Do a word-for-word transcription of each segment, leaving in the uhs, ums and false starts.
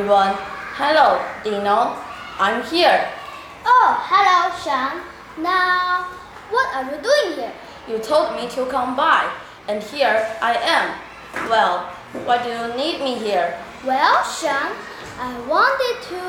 everyone. Hello, Dino. I'm here. Oh, hello, Sean. Now, what are you doing here? You told me to come by, and here I am. Well, why do you need me here? Well, Sean, I wanted to...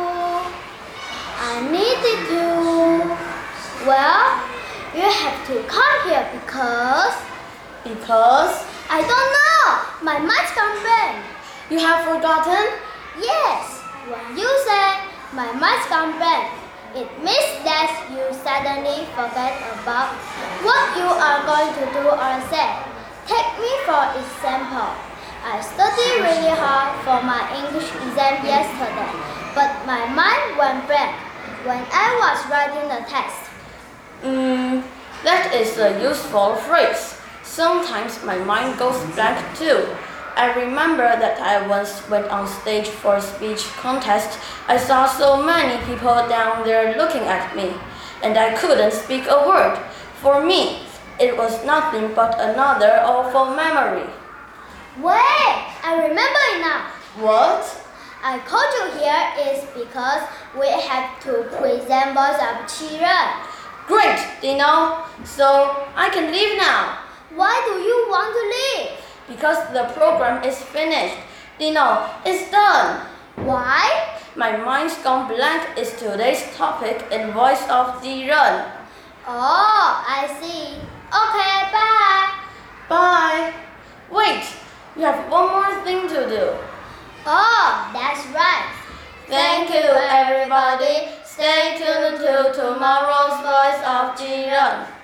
I needed to... Well, you have to come here because... Because? I don't know. My mind's gone blank. You have forgotten? Yes. When you say my mind's gone blank, it means that you suddenly forget about what you are going to do or say. Take me for example. I studied really hard for my English exam yesterday, but my mind went blank when I was writing the test. Hmm, that is a useful phrase. Sometimes my mind goes blank too. I remember that I once went on stage for a speech contest. I saw so many people down there looking at me, and I couldn't speak a word. For me, it was nothing but another awful memory. Wait, I remember it now. What? I called you here is because we have to present Voice of Children. Great, Dino. So I can leave now. Why do you want to leave? Because the program is finished. Dino, it's done. Why? My mind's gone blank is today's topic in Voice of Children. Oh, I see. Okay, bye. Bye. Wait, you have one more thing to do. Oh, that's right. Thank you, everybody. Stay tuned to tomorrow's Voice of Children.